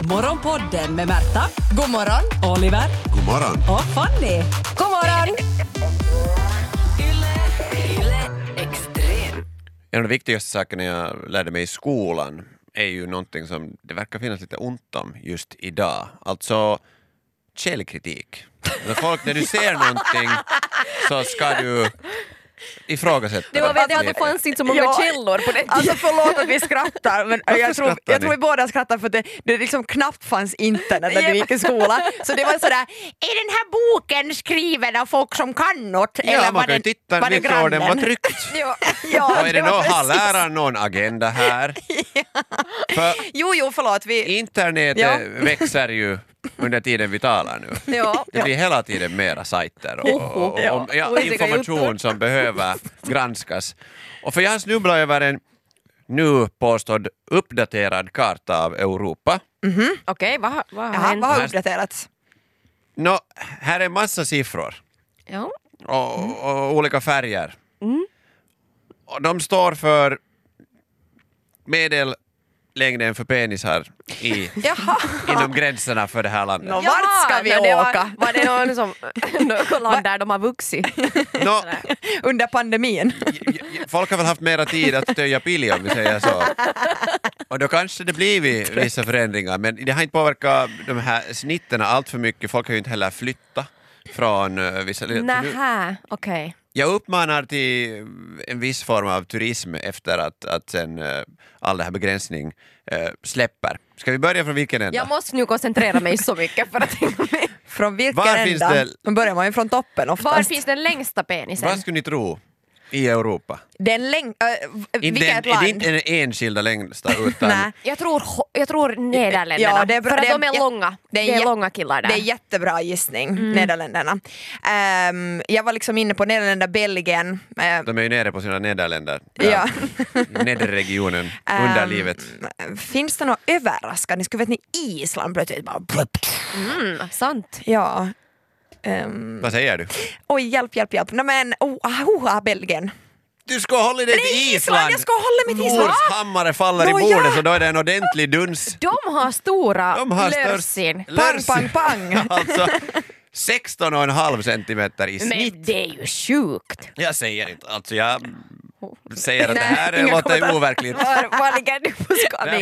Morgonpodden med Märta. God morgon. Oliver. God morgon. Och Fanny. God morgon. En av de viktigaste sakerna jag lärde mig i skolan är ju någonting som det verkar finnas lite ont om just idag. Alltså källkritik. När du ser någonting så ska du ifrågasätta. Det var väl det att det fanns inte så många källor på det. Alltså förlåt att vi skrattar, men jag tror ni? vi båda skrattar för att det liksom knappt fanns internet när vi gick i skolan. Så det var sådär, är den här boken skriven av folk som kan något? Ja, eller man kan ju titta vilket år den var tryckt. Ja, Och är det har läraren någon agenda här? För Jo, förlåt. internetet växer ju under tiden vi talar nu. Ja. Det blir hela tiden mera sajter och information som behöver granskas. Och för jag har snubblat över en nu påstådd uppdaterad karta av Europa. Okej, vad har Jaha, hänt? vad har uppdaterats? Här är en massa siffror Ja. och olika färger. Och de står för medellängden för penisar inom gränserna för det här landet. Vart ska vi åka? Var det något land där de har vuxit? Under pandemin. Folk har väl haft mera tid att töja pili om vi säger så. Och då kanske det blivit vissa förändringar, men det har inte påverkat de här snitterna allt för mycket. Folk har ju inte heller flyttat från vissa... Nähä, okej. Jag uppmanar till en viss form av turism efter att sen all det här begränsning släpper. Ska vi börja från vilken ända? Jag måste nu koncentrera mig så mycket för att tänka mig. Från vilken Var finns ända? det- Då börjar man ju från toppen oftast. Var finns den längsta penisen? Vad skulle ni tro i Europa? Den vilket land? Det är inte den enskilda längsta utan... Nej. Jag tror Nederländerna. Ja, det är bra. För att Det är- de är långa. Det är långa killar där. Det är jättebra gissning, Nederländerna. Jag var liksom inne på Nederländerna, Belgien. De är ju nere på sina nederländer. Ja. Nedre regionen, under livet. Finns det något överraskande? Skulle vet ni, Island plötsligt bara... Sant. Ja. Vad säger du? Oj, hjälp. Nej men, Belgien. Du ska hålla dig till Island! Jag ska hålla mig till Island! Mors hammare faller i bordet så då är det en ordentlig duns. De har stora De har lörsin. Pang. Alltså 16,5 centimeter i snitt. Men det är ju sjukt. Jag säger inte, alltså jag säger att det Nej, här inga låter kommentarer. overkligt. Var ligger du på skalan?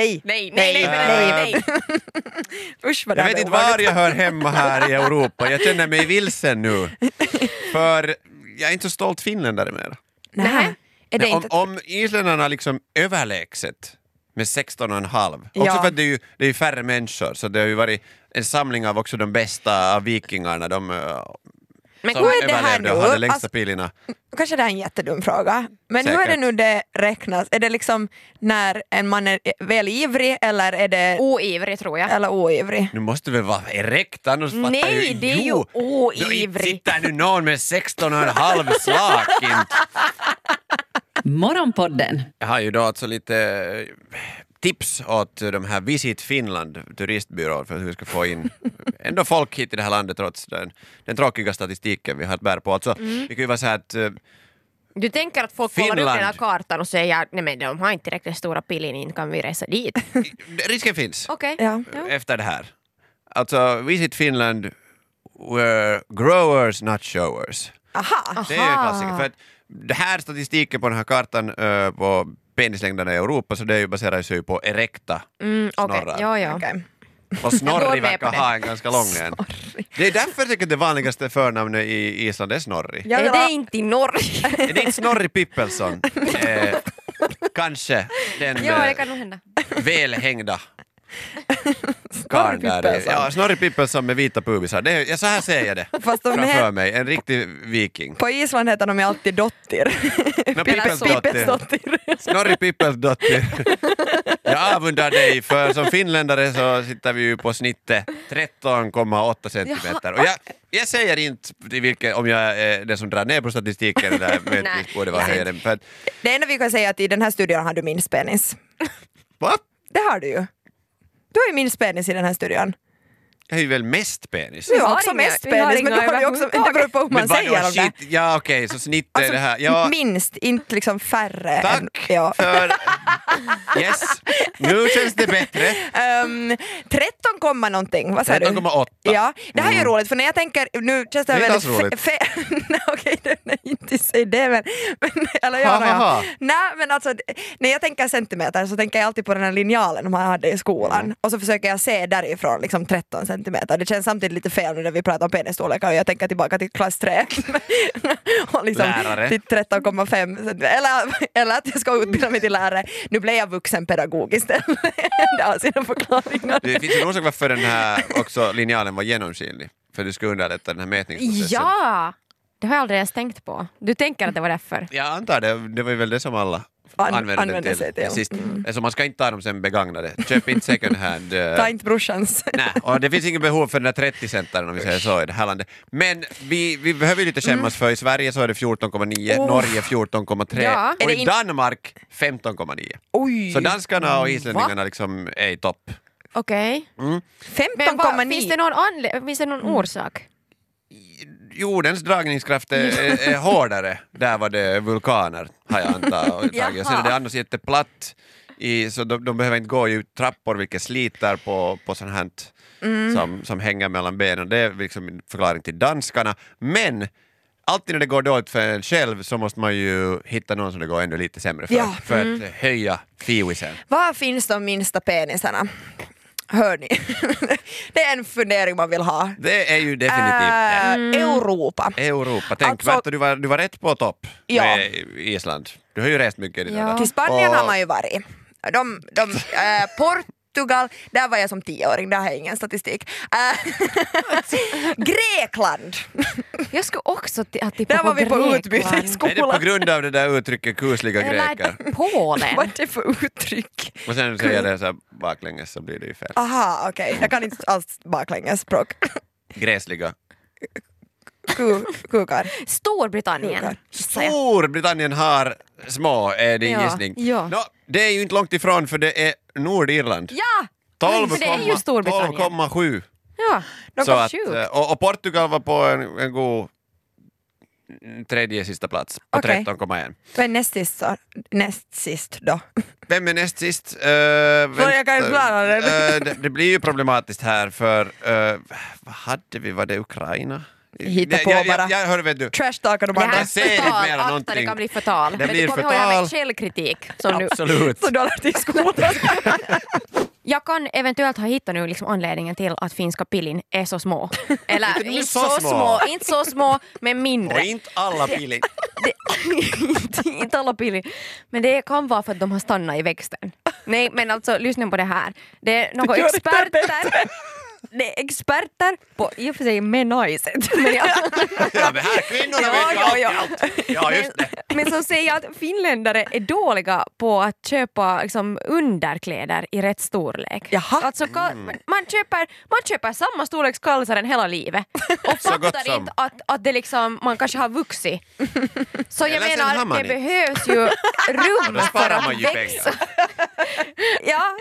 Nej. Usch vad Jag det vet är inte var obehagligt. jag hör hemma här i Europa. Jag känner mig vilsen nu. För jag är inte så stolt finländare mer. Nej. Är det inte... Om isländarna liksom överlägset med 16,5. Ja. Också för att det är ju färre människor, så det har ju varit en samling av också de bästa av vikingarna, de Men som hur är det här överlevde och nu? hade längsta Alltså, pilarna. kanske det är en jättedum fråga. Men hur är det Säkert. nu det räknas? Är det liksom när en man är väl ivrig eller är det Oivrig tror jag. eller oivrig? Nu måste väl vara erekt, annars fattar Nej, ju... det är ju Jo, oivrig. sitter nu någon med 16,5 slag. Morgonpodden. Jag har ju då alltså lite tips åt de här Visit Finland turistbyråer för hur vi ska få in ändå folk hit i det här landet trots den tråkiga statistiken vi har att bära på. Alltså, vi kan ju vara så här att Du tänker att folk kollar upp Finland. den här kartan och säger nej men de har inte tillräckligt stora pilin, inte kan vi resa dit. risken finns Okej. Ja. efter det här. Alltså Visit Finland were growers not showers. Aha. Det är ju en klassiker. För att det här statistiken på den här kartan på penislängderna i Europa, så det är ju baserar sig på erekta Okej, snorrar. ja. Okej. Och Jag går Snorri med verkar på det. ha en ganska lång en. Det är därför jag tycker att det vanligaste förnamnet i Island är Snorri. Ja, Är det det var- inte i Norge? Är det inte Snorri Pippelsson? Kanske den Ja, det kan nog hända. välhängda karln där. Pippelsson. Ja, Snorri Pippelsson med vita pubisar. Så här ser jag det Fast de framför mig. En riktig viking. på Island heter de ju alltid Dottir. Pippelsdottir. Snorri Pippelsdottir. Jag avundar dig, för som finländare så sitter vi ju på snittet 13,8 centimeter. Och jag säger inte om jag är den som drar ner på statistiken där möjligtvis borde vara högre. För att, Det enda vi kan säga är att i den här studion har du minst penis. va? Det har du ju. Du har ju minst penis i den här studion. Jag är ju väl mest penis. Du har har också inga- mest vi har penis, men inga du har ju också, det beror på hur man vadå, säger om det. shit? Ja okej, så snitt är Alltså, det här. Ja, minst, inte liksom färre. än, tack ja. för... Yes, nu känns det bättre. 13, någonting, vad sa du? 13,8. Ja, det här är ju roligt för när jag tänker, nu känns det Det är väldigt inte alls roligt. Nej, okej, nej, inte säga det men eller ja, Ha, ha, ha. ja. Nej men alltså när jag tänker centimeter så tänker jag alltid på den här linjalen man hade i skolan och så försöker jag se därifrån liksom 13 centimeter. Det känns samtidigt lite fel nu när vi pratar om penisstorlekar och jag tänker tillbaka till klass 3 och liksom Lärare. till 13,5 eller att jag ska utbilda mig till lärare. Nu blev jag vuxenpedagog istället. Det har sina förklaringar. Det finns en orsak varför den här också linjalen var genomskinlig. För du ska underlätta den här mätningsprocessen. Ja! Det har jag aldrig ens tänkt på. Du tänker att det var därför? Jag antar det. Det var ju väl det som alla använde den sig till till. sist. Så man ska inte ta dem sen begagnade. Köp inte second hand. Ta inte brorsans. Nej, och det finns inget behov för den där 30-centaren om vi säger så i det här landet. Men vi behöver ju lite skämmas för i Sverige så är det 14,9, Norge 14,3 Ja. och Är det i Danmark 15,9. Oj! Så danskarna och islänningarna liksom är i topp. Okej. Men 15,9. finns det någon orsak? Jordens dragningskraft är hårdare. Där var det vulkaner har jag antagit. Och sen är det annars jätteplatt så de behöver inte gå ut trappor vilket sliter på sånt här som hänger mellan benen. Det är liksom en förklaring till danskarna. Men alltid när det går dåligt för en själv så måste man ju hitta någon som det går ännu lite sämre för att höja fiwisen. Var finns de minsta penisarna? Hör ni? Det är en fundering man vill ha. Det är ju definitivt Europa. Europa. Tänk, Alltså- Berta, du var rätt på topp Ja. med Island. Du har ju rest mycket i det Ja. där. Till Spanien Och- har man ju varit. Portugal, där var jag som 10-åring, där har jag ingen statistik. Grekland, Jag skulle också tippa där var vi på Grekland. utbyte i Är det på skolan. grund av det där uttrycket kusliga greker? Eller Polen. Vad är det för uttryck? Och sen säger jag det så här baklänges så blir det ju fel. Aha, okej. Jag kan inte alls baklängesspråk. Gräsliga. Kukar. Storbritannien. Storbritannien har små, är din Ja, gissning. ja. Nå, det är ju inte långt ifrån för det är Nordirland. Ja! 12, men det är ju Storbritannien. 12,7. Ja, de Så var att, sjukt. och Portugal var på en god tredje sista plats på Okej. 13,1. Vad är näst sist då? Vem är näst sist? jag kan ju klara det. Det blir ju problematiskt här för vad hade vi? Var det Ukraina? Hitta på bara. Jag hör, vet du. Trash-talkar de Det andra. här Jag ser inte förtal, mera akta, någonting. det kan bli förtal. Det Men blir du kommer ihåg det här förtal. med källkritik. Som nu. Absolut. Så du har lärt dig i skolan. Jag kan eventuellt ha hittat nu liksom anledningen till att finska pillin är så små. Eller Inte inte så så små. små, inte så små, men Och mindre. inte alla pili. Inte alla pillin. Men det kan vara för att de har stannat i växten. Nej, men alltså lyssna på det här. Det är några Gör det experter. Det är experter på i och för sig menajset. Men Ja, men här kvinnorna vet ju allt. Ja, just det. Men som säger att finländare är dåliga på att köpa liksom, underkläder i rätt storlek. Jaha. Alltså, man köper samma storleks kalsaren hela livet och Så gott fattar som. inte att det liksom, man kanske har vuxit. Så jag Eller sen har menar, man det inte. behövs ju Och rum då för sparar att man ju växa. pengar. Ja,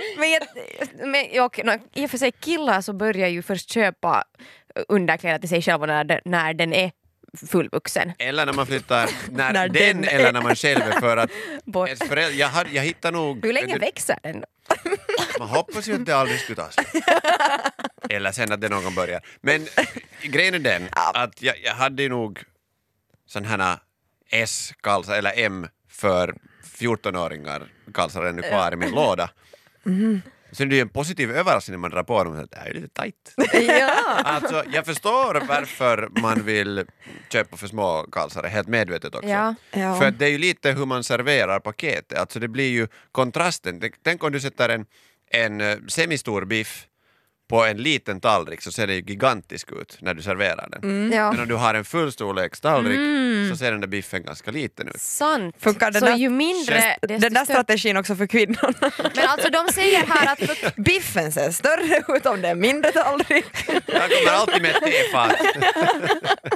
men i och för sig killar så börjar ju först köpa underkläder till sig själva när den är fullvuxen. Eller när man flyttar, när När den den eller när man själv är för att Bort. ens jag hittar nog... Hur länge växer den? Man hoppas ju att det aldrig skulle ta slut. Eller sen att det någon börjar. Men grejen är den att jag hade ju nog sån här S-kalsar eller M för 14-åringar kalsar ännu kvar i min låda. Sen är det ju en positiv överraskning när man drar på dem att det här är lite tajt. Ja. Alltså, jag förstår varför man vill köpa för små kalsare, helt medvetet också. Ja. Ja. För att det är ju lite hur man serverar paketet, alltså det blir ju kontrasten. Tänk om du sätter en semistor biff på en liten tallrik så ser det ju gigantisk ut när du serverar den. Ja. Men om du har en fullstorlekstallrik så ser den där biffen ganska liten ut. Sant. Funkar den så där- ju mindre desto Den där större. strategin också för kvinnorna. Men alltså de säger här att Biffen ser större ut om det är mindre tallrik. Jag kommer alltid med ett tefat.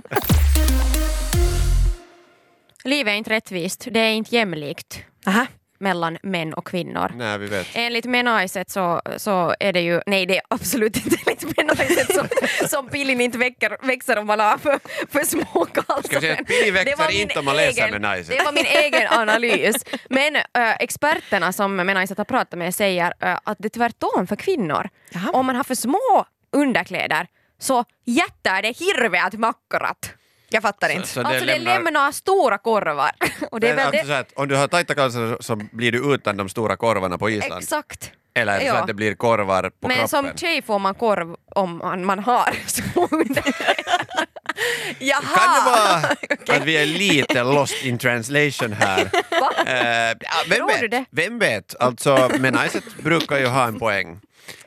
livet är inte rättvist, det är inte jämlikt. Aha. mellan män och kvinnor. Nej, vi vet. Enligt Menaiset så är det ju, nej det är absolut inte enligt Menaiset som pilin inte växer om man har för små kalsar. Ska vi säga att pili växer inte om man läser Menaiset? Det var min egen analys. Men experterna som Menaiset har pratat med säger att det är tvärtom för kvinnor. Jaha. Om man har för små underkläder så jättar det hirveät makkarat. Jag fattar inte. Så Alltså det lämnar stora korvar. Och det är väl alltså så att om du har tajta kalsar så blir du utan de stora korvarna på Island. exakt. Eller är det så Ja. att det blir korvar på Men kroppen? som tjej får man korv om man har små underkläder. Jaha! Kan det vara att vi är lite lost in translation här? Tror du det? Vem vet? Alltså, Menaiset brukar ju ha en poäng.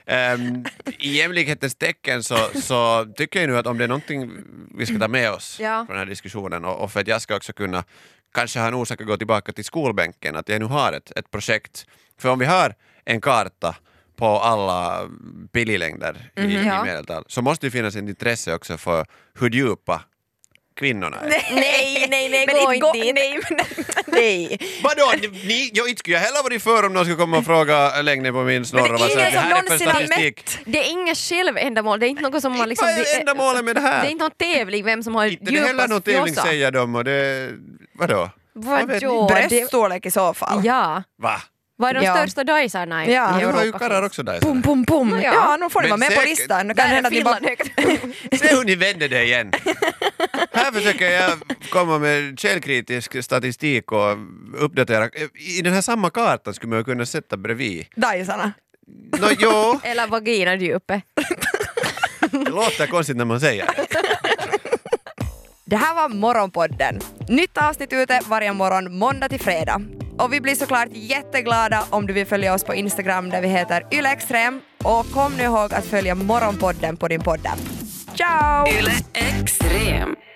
I jämlikhetens tecken så tycker jag nu att om det är någonting vi ska ta med oss Ja. från den här diskussionen och för att jag ska också kunna kanske ha en orsak att gå tillbaka till skolbänken, att jag nu har ett projekt. För om vi har en karta på alla pililängder i Ja. medeltal så måste det finnas ett intresse också för hur djupa kvinnorna är. Nej, Men gå inte inte dit. Nej. Vadå? Jag inte skulle jag heller varit för om någon skulle komma och fråga längden på min snorra. Men det är ingen som här är för någonsin har statistik. Det är inget självändamål, det är inte något som man liksom... Vad är ändamålet med det här? Det är inte någon tävling vem som har Inte det är heller någon djupast tävling fjossa. säger de och det... Vadå? Vadå? Bröststorlek i så fall. Ja. Va? Vad är de Ja. största dajsarna i Ja. Nu har ju Europa? karlar också där. Pum, pum, pum. Ja. Ja, nu får ni Men vara med på säkert- listan. Nu Där kan det är hända att ni bara... Finland högt. Se hur ni vänder det igen. Här försöker jag komma med källkritisk statistik och uppdatera. I den här samma kartan skulle man ju kunna sätta bredvid. Dajsarna. Jo, Eller vaginadjupet. det låter konstigt när man säger det. Det här var Morgonpodden. Nytt avsnitt ute varje morgon måndag till fredag. Och vi blir såklart jätteglada om du vill följa oss på Instagram där vi heter ylextrem. Och kom nu ihåg att följa Morgonpodden på din poddapp. Ciao! Yle Extrem.